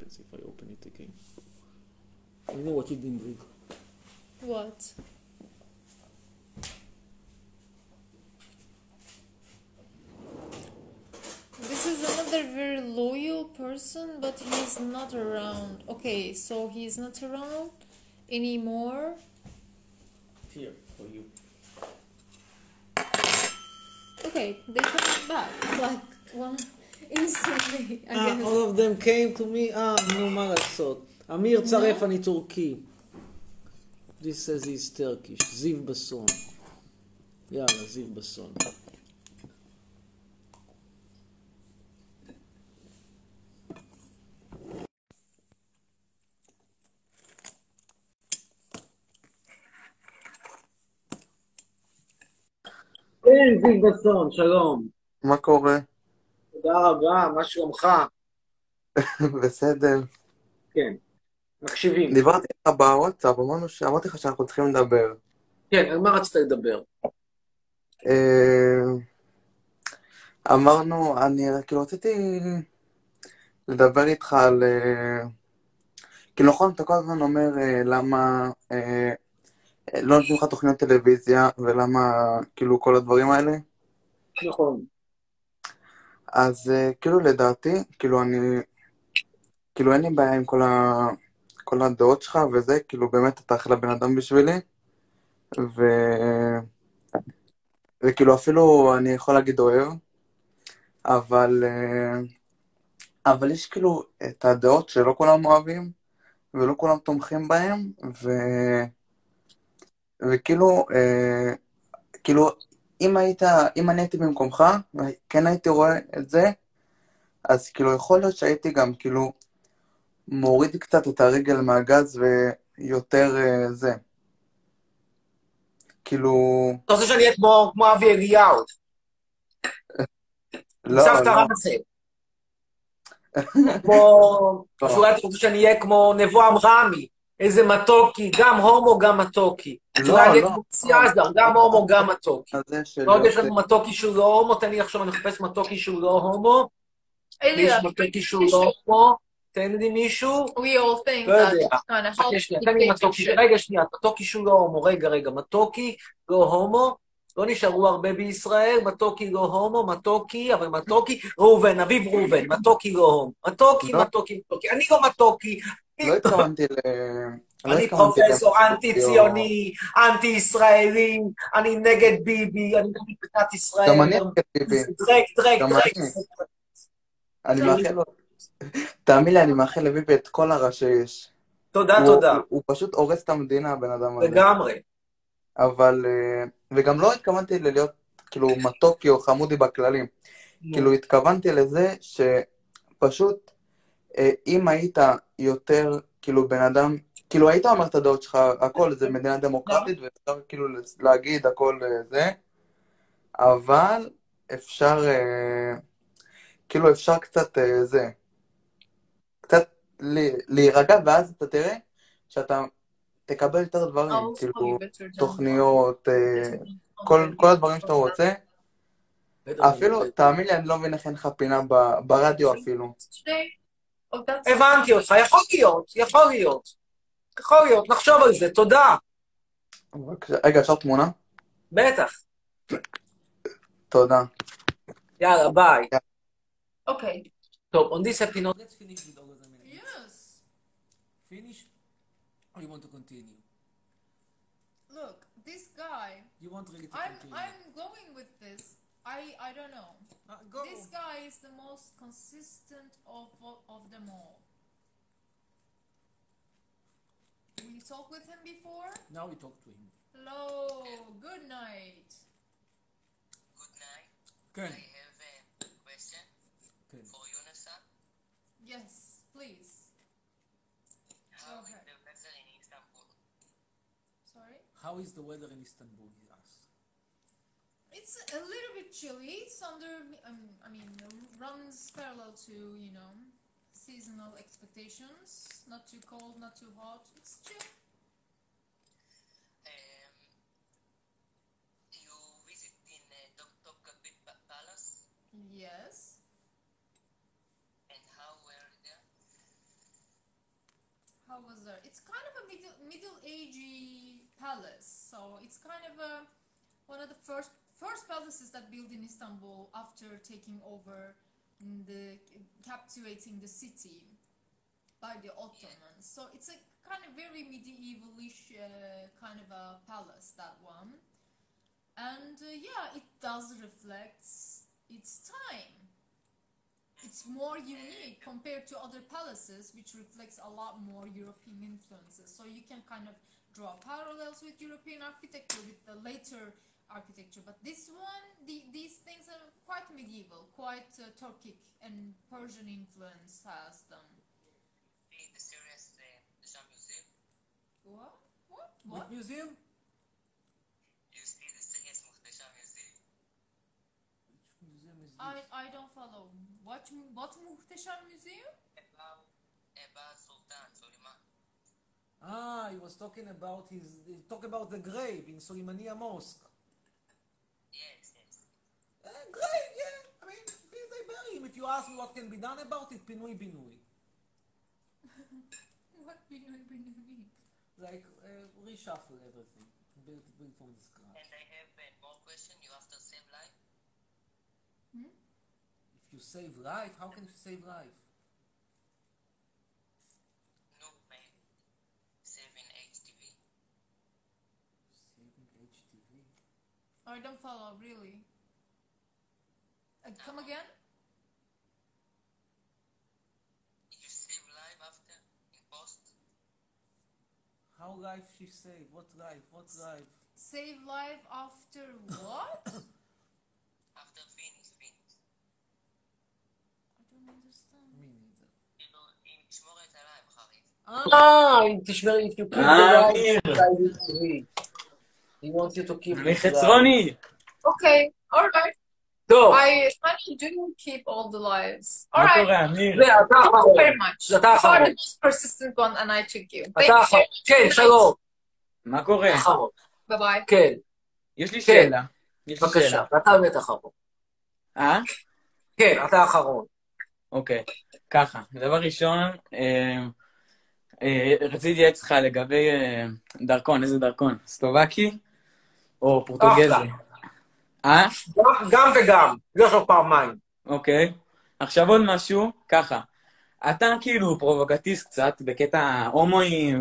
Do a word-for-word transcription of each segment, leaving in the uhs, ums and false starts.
happens if I open it again? I don't know what you didn't read. What? This is another very loyal person, but he's not around. Okay, so he's not around anymore. Here, for you. Okay, they come back like one instantly, I Ah, guess. all of them came to me. Ah, נו, מה לעשות? אמיר צרף, אני טורקי. This says he's Turkish. זיו בסון. יאללה, זיו בסון. כן, זיו בסון, שלום. מה קורה? תודה רבה, מה שלומך? בסדר. כן, מקשיבים. דיברתי לך בוואטסאפ, אמרנו שאמרתי לך שאנחנו צריכים לדבר. כן, על מה רצית לדבר? אה, אמרנו, אני כאילו רציתי לדבר איתך על... אה, כאילו נכון, אתה כל הזמן אומר אה, למה אה, לא נותנים לך תוכניות טלוויזיה, ולמה כאילו כל הדברים האלה. נכון. אז אה, כאילו לדעתי, כאילו אני... כאילו אין לי בעיה עם כל ה... כל הדעות שלך וזה, כאילו באמת אתה אחלה בן אדם בשבילי, ו... וכאילו אפילו אני יכול להגיד אוהב, אבל, אה, אבל יש כאילו את הדעות שלא כולם אוהבים, ולא כולם תומכים בהם, ו... וכאילו, אה, כאילו, אם היית, אם אני הייתי במקומך, כן הייתי רואה את זה, אז כאילו יכול להיות שהייתי גם כאילו מוריד קצת את הרגל מהגז ויותר אה, זה. כאילו... אתה רוצה שאני אהיה כמו, כמו אבי אליהו? לא, סבתא לא. רמסה. כמו... שאולי אתה רוצה שאני אהיה כמו נבואם רמי. איזה מתוקי, גם הומו, גם מתוקי. שאולי אני אהיה כמו סיאזר, גם הומו, גם מתוקי. ועוד יש לנו מתוקי שהוא לא הומו, תן לי עכשיו, אני מחפש מתוקי שהוא לא הומו. מישהו מתוקי שהוא לא הומו. תן לי מישהו. We all think לא יודע. that kind of helps תן לי keep מתוקי. picture. רגע, שנייה, מתוקי שהוא לא הומו. רגע, רגע, מתוקי, לא הומו. לא נשארו הרבה בישראל, מתוקי לא הומו, מתוקי, אבל מתוקי, ראובן, אביב ראובן, מתוקי לא הומו. מתוקי, לא. מתוקי, מתוקי. אני לא מתוקי. לא התכוונתי ל... לא אני התכוונתי פרופסור ל- אנטי-ציוני, אנטי-ישראלי, אני נגד ביבי, אני נגד מדינת ישראל. גם אני נגד ביבי. דרק, דרק, גם דרק. אני. אני מאחל לו... תאמין לי, אני מאחל לביבי את כל הרע שיש. תודה, הוא- תודה. הוא- הוא פשוט הורס את המדינה, הבן אדם הזה. לגמרי. אבל... אה, וגם לא התכוונתי ללהיות כאילו מתוקי או חמודי בכללים. כאילו התכוונתי לזה שפשוט אה, אם היית יותר כאילו בן אדם, כאילו היית אומר את הדעות שלך, הכל זה מדינה דמוקרטית ואפשר כאילו להגיד הכל אה, זה, אבל אפשר אה, כאילו אפשר קצת אה, זה, קצת ל- להירגע, ואז אתה תראה שאתה תקבל יותר דברים, Also, כאילו you better jump on. תוכניות, אה, כל, כל הדברים שאתה רוצה. אפילו, תאמין לי, אני לא מבין איך אין לך פינה ב- ברדיו אפילו. Oh, that's הבנתי אותך, יכול להיות, יכול להיות. יכול להיות, נחשוב על זה, תודה. בבקשה. רגע, אפשר תמונה? בטח. תודה. יאללה, ביי. okay. טוב, on this happy note, let's finish with all of them. Yes. Finish? Or you want to continue? Look, this guy. You want really to I'm continue? I'm going with this. I I don't know. Uh, go. This guy is the most consistent of of them all. We talked with him before. Now we talk to him. Hello. Good night. Good night. כן. I have a question כן. for you, Nasa. Yes, please. How is ahead. the weather in Istanbul? Sorry. How is the weather in Istanbul, he asked. It's a little bit chilly. It's under, um, I mean, runs parallel to, you know, seasonal expectations. Not too cold, not too hot. It's chill. Um, you visit in uh, Topkapi Palace, Yes. and how were there? how was there? It's kind of a middle middle agey palace. So it's kind of a one of the first first palaces that built in Istanbul after taking over the captivating the city by the Ottomans. So it's a kind of very medievalish uh, kind of a palace, that one. And uh, yeah, it does reflect its time. It's more unique compared to other palaces, which reflects a lot more European influences. So you can kind of draw parallels with European architecture, with the later architecture. But this one, the, these things are quite medieval, quite uh, Turkic, and Persian influence has them. The series, uh, the Shah Museum. What? What? What What? museum? You see the series Muhtasham Museum. Which museum is I, this? I don't follow. What, what Muhteşem Museum? About, about Sultan Suleiman. Ah, he was talking about his, he talk about the grave in Soleimania Mosque. Yes, yes. Uh, grave, yeah. I mean, they bury him. If you ask me what can be done about it, pinui binui. What Binoy Binoy mean? Like, uh, reshuffle everything. Build, build from the scratch. And I have uh, more question. You have to save life. Hmm? If you save life, how can you save life? No, man. Saving H T V. Saving H T V. I don't follow, really. Uh, come again? You save life after in post. How life she save? What life? What life? Save life after what? After finish, finish. I don't understand. Me neither. כאילו, אם תשמור את עליי בחריף. Ah, אם תשמרי, if you keep Ah, the Amir. life, he wants you to keep אני it alive. חצרוני. Okay, alright. טוב, I finally do keep all the lives. מה Alright. קורה, אמיר? זה, אתה Thank you האחרון. very much. אתה You are האחרון. the most persistent one and I took you. Thank אתה you. האחרון. כן, שלום. מה קורה? אחרון. Bye bye. כן, יש לי כן. שאלה. יש לי בבקשה. שאלה. אתה באמת אחרון. אה? כן, אתה האחרון. אוקיי. ככה, דבר ראשון, אה, אה, רציתי להתייעץ איתך לגבי אה, דרכון, איזה דרכון? סלובקי או פורטוגזי? אחלה. אה? גם- גם וגם. יש לו פעמיים. אוקיי. עכשיו עוד משהו, ככה. אתה כאילו פרובוקטיסט קצת בקטע הומואים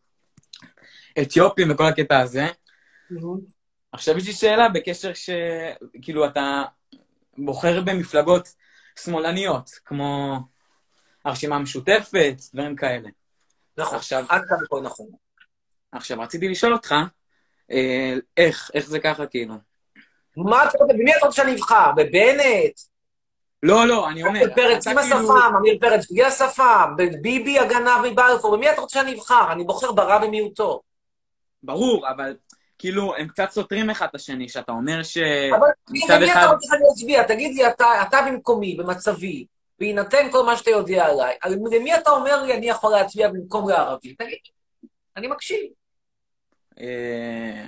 ואתיופים וכל הקטע הזה. עכשיו יש לי שאלה בקשר שכאילו אתה בוחר במפלגות שמאלניות, כמו הרשימה המשותפת, דברים כאלה. נכון. עכשיו, עד כאן הכל נכון. עכשיו רציתי לשאול אותך, אה, איך, איך זה ככה כאילו? מה אתה רוצה? במי אתה רוצה שאני אבחר? בבנט? לא, לא, אני אומר, אמיר פרץ אתה עם כאילו- השפם, אמיר פרץ בלי השפם, ביבי הגנב מבלפור, במי אתה רוצה שאני אבחר? אני בוחר ברע במיעוטו. ברור, אבל כאילו הם קצת סותרים אחד את השני, שאתה אומר ש... אבל מצד למי אחד- אתה רוצה שאני אצביע? תגיד לי, אתה אתה במקומי, במצבי, בהינתן כל מה שאתה יודע עליי, על- למי אתה אומר לי אני יכול להצביע במקום לערבי? תגיד לי, אני מקשיב. אה,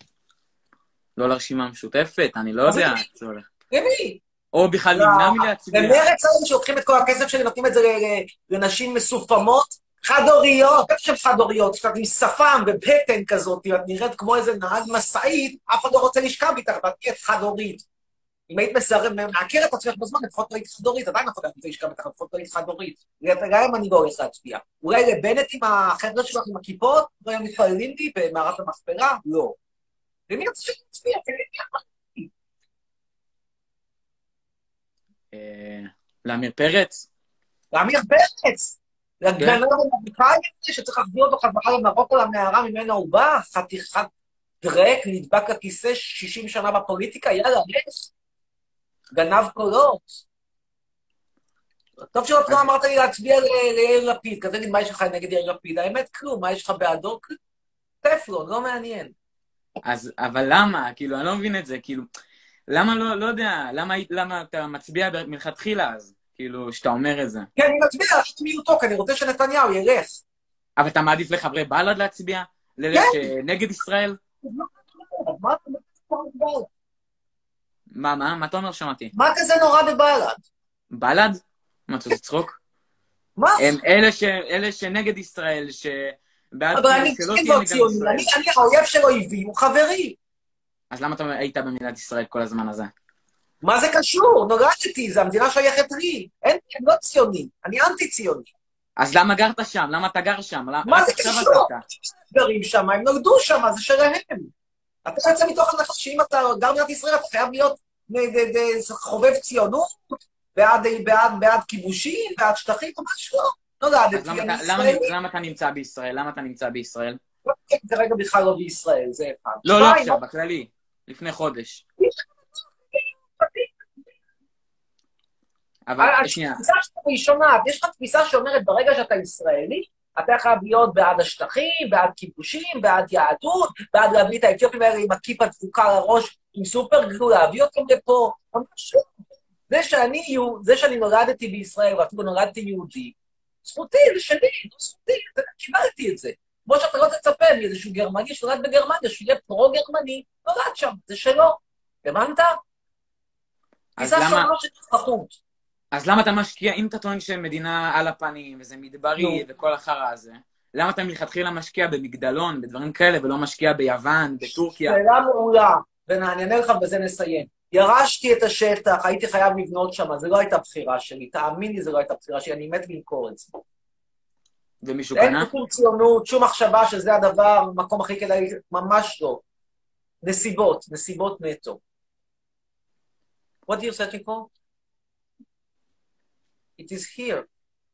לא לרשימה המשותפת, אני לא יודע איך זה הולך. למי? או בכלל לא, נמנע מלהצביע. למרץ האלה שלוקחים את כל הכסף שלי, נותנים את זה ל- ל- לנשים מסופמות, חד-הוריות, בטח שהן חד-הוריות, שאת עם שפם ובטן כזאת, את נראית כמו איזה נהג משאית, אף אחד לא רוצה לשכב איתך, ואת נהיית חד-הורית. אם היית מסרב, מעקר את עצמך בזמן, לפחות לא היית חד-הורית, עדיין לא יכולה לשכב איתך, לפחות לא היית חד-הורית. גם אם אני לא הולך להצביע. אולי לבנט עם החבר'ה שלך עם הכיפות, לא היו מתפללים לי במערת המכפלה? לא. למי רוצה שאני אצביע? תגיד לי, אה, לאמיר פרץ? לעמיר פרץ, לגנב המרוקאי הזה שצריך להחזיר אותו חזרה למרוקו למערה ממנה הוא בא, חתיכת דרק, נדבק לכיסא שישים שנה בפוליטיקה, יאללה, יש. גנב קולות. טוב שלא לא אמרת לי להצביע ל- ליאיר לפיד, כזה נגיד מה יש לך נגד יאיר לפיד, האמת כלום, מה יש לך בעדו? כלום. טפלון, לא מעניין. אז, אבל למה? כאילו, אני לא מבין את זה, כאילו, למה לא, לא יודע, למה, למה אתה מצביע מלכתחילה אז? כאילו, שאתה אומר את זה. כן, אני מצביע, את מיעוטו, כי אני רוצה שנתניהו ילך. אבל אתה מעדיף לחברי בל"ד להצביע? לאלה שנגד ישראל? מה אתה אומר בבל"ד? מה, מה? מה אתה אומר? שמעתי. מה כזה נורא בבל"ד? בל"ד? מה, אתה רוצה צחוק? מה? הם אלה, ש... אלה שנגד ישראל, שבעד אבל אני שלא כן תהיה לא מדינת ציוני, ישראל. אני, אני האויב של אויבי, הוא חברי. אז למה אתה היית במדינת ישראל כל הזמן הזה? מה זה קשור? נולדתי, זו המדינה שייכת לי. אין, אני לא ציוני, אני אנטי-ציוני. אז למה גרת שם? למה אתה גר שם? למה... מה רק זה עכשיו קשור? עזבת. גרים שם, הם נולדו שם, זה שלהם. אתה יוצא מתוך הנחה שאם אתה גר במדינת ישראל, אתה חייב להיות ד- ד- ד- חובב ציונות, בעד, בעד, בעד כיבושים, בעד שטחים, ממש לא. אז נולדתי, למה אני אתה, למה, ישראלי. למה אתה נמצא בישראל? למה אתה נמצא בישראל? כרגע בכלל לא בישראל, זה אחד. לא, לא שתיים, עכשיו, בכללי. לפני חודש. אבל, שנייה. התפיסה שלך היא שונה, יש לך תפיסה שאומרת, ברגע שאתה ישראלי, אתה חייב להיות בעד השטחים, בעד כיבושים, בעד יהדות, בעד להביא את האתיופים האלה עם הכיפה דפוקה על הראש, עם סופר גלו, להביא אותם לפה, ממש לא. זה שאני, זה שאני נולדתי בישראל, ואפילו נולדתי יהודי, זכותי, זה שלי, זו זכותי, קיבלתי את זה. כמו שאתה לא תצפה מאיזשהו גרמני שנולד בגרמניה, שיהיה פרו-גרמני, נולד שם, זה שלו. הבנת? תפיסה שונה של אזרחות. אז למה אתה משקיע, אם אתה טוען שמדינה על הפנים, וזה מדברי, וכל החרא הזה, למה אתה מלכתחילה משקיע במגדלון, בדברים כאלה, ולא משקיע ביוון, בטורקיה? שאלה מעולה, ואני אענה לך ובזה נסיים. ירשתי את השטח, הייתי חייב לבנות שם, זה לא הייתה בחירה שלי, תאמין לי, זה לא הייתה בחירה שלי, אני מת למכור את זה. ומישהו אין קנה? שום ציונות, שום מחשבה שזה הדבר, המקום הכי כדאי, ממש לא. נסיבות, נסיבות נטו. What are you searching for? It is here.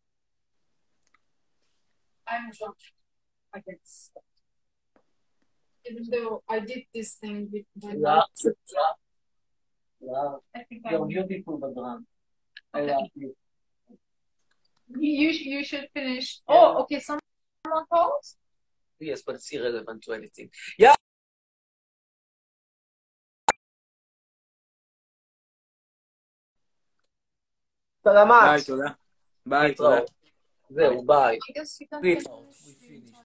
I'm shocked. I guess. Even though I did this thing with my Yeah. life, Yeah. I think You're I'm... beautiful, Badran. I Okay. love you. You, you should finish. Yeah. Oh, okay. Someone calls? Yes, but it's irrelevant to anything. Yeah. סלמת. ביי, תודה. ביי, תודה. זהו, ביי. I guess you can להתראות. finish.